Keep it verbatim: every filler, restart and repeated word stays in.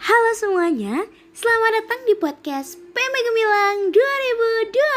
Halo semuanya, selamat datang di podcast P M Gemilang dua ribu dua puluh